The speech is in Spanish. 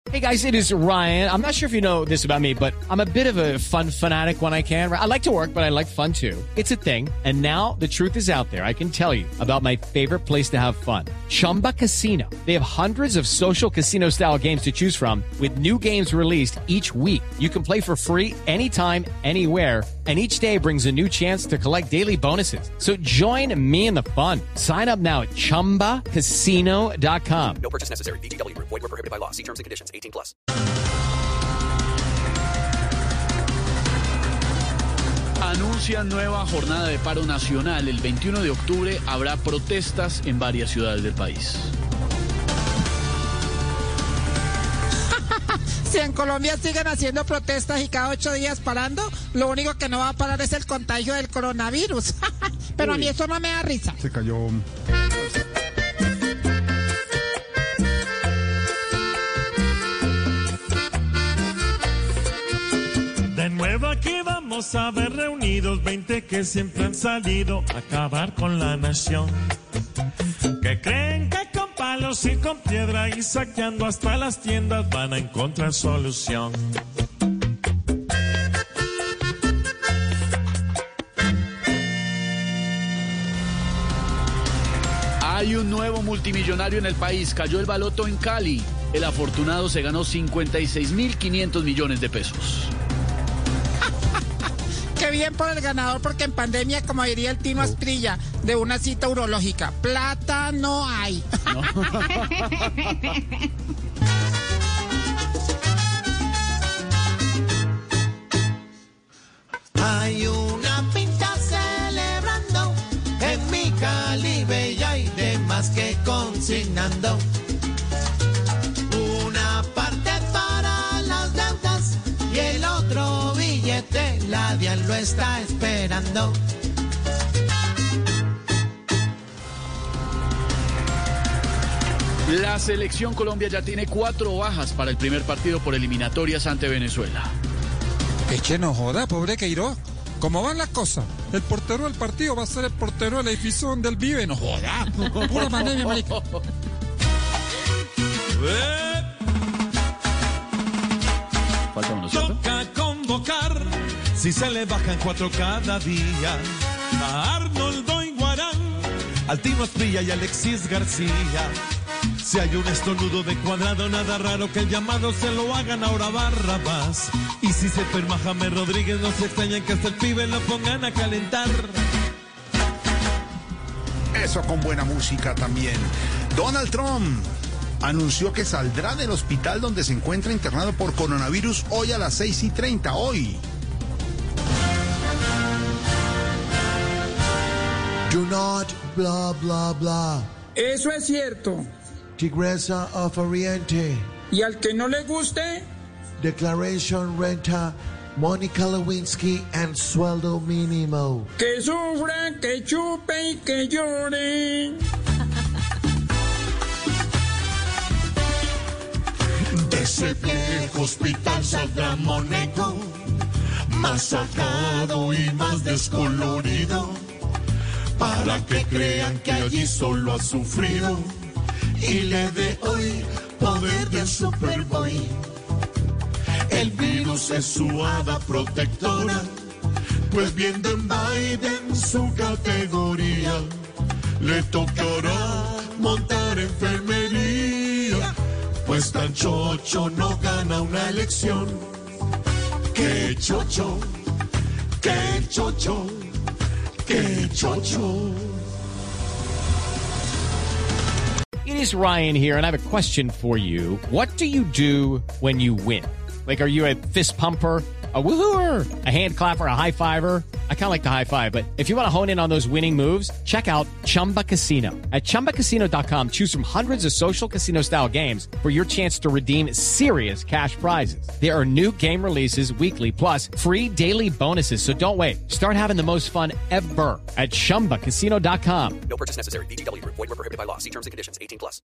Hey guys, it is Ryan. I'm not sure if you know this about me, but I'm a bit of a fun fanatic when I can. I like to work, but I like fun too. It's a thing. And now the truth is out there. I can tell you about my favorite place to have fun. Chumba Casino. They have hundreds of social casino style games to choose from with new games released each week. You can play for free anytime, anywhere. And each day brings a new chance to collect daily bonuses. So join me in the fun. Sign up now at ChumbaCasino.com. No purchase necessary. VGW. Void where prohibited by law. See terms and conditions. 18+. Anuncian nueva jornada de paro nacional. El 21 de octubre habrá protestas en varias ciudades del país. Si en Colombia siguen haciendo protestas y cada 8 días parando, lo único que no va a parar es el contagio del coronavirus. Pero a mí eso no me da risa. Se cayó. De nuevo aquí vamos a ver reunidos 20 que siempre han salido a acabar con la nación. Que creen que con palos y con piedra y saqueando hasta las tiendas van a encontrar solución. Hay un nuevo multimillonario en el país. Cayó el baloto en Cali. El afortunado se ganó 56.500 millones de pesos. Qué bien por el ganador, porque en pandemia, como diría el Tino Asprilla, de una cita urológica, plata no hay. ¿No? Hay una pinta celebrando en mi Cali bella y demás que consignando. Una parte para las deudas y el otro billete, la DIAN lo está esperando. La selección Colombia ya tiene 4 bajas para el primer partido por eliminatorias ante Venezuela. Eche, no joda, pobre Queiroz. ¿Cómo van las cosas? El portero del partido va a ser el portero del edificio donde él vive. No joda. Pura pandemia, marica. Falta uno, ¿cierto? Toca convocar, si se le bajan 4 cada día, a Arnoldo Iguarán, al Tino Asprilla y Alexis García. Si hay un estornudo de Cuadrado, nada raro que el llamado se lo hagan ahora Barrabás. Y si se enferma James Rodríguez, no se extrañan que hasta el pibe lo pongan a calentar. Eso con buena música también. Donald Trump anunció que saldrá del hospital donde se encuentra internado por coronavirus hoy a las 6:30. Hoy. Do not bla bla bla. Eso es cierto. Tigresa of Oriente. Y al que no le guste, Declaration renta. Mónica Lewinsky and sueldo mínimo. que sufra, que chupe y que llore. De ese viejo hospital saldrá Mónaco, más sacado y más descolorido, para que crean que allí solo ha sufrido y le dé hoy poder de Superboy. El virus es su hada protectora, pues viendo en Biden su categoría, le tocará montar enfermería, pues tan chocho no gana una elección. ¡Qué chocho! ¡Qué chocho! ¡Qué chocho! It is Ryan here, and I have a question for you. What do you do when you win? Like, are you a fist pumper, a woohooer, a hand clapper, a high fiver? I kind of like the high five, but if you want to hone in on those winning moves, check out Chumba Casino. At ChumbaCasino.com, choose from hundreds of social casino-style games for your chance to redeem serious cash prizes. There are new game releases weekly, plus free daily bonuses, so don't wait. Start having the most fun ever at ChumbaCasino.com. No purchase necessary. VGW. Void where prohibited by law. See terms and conditions. 18+.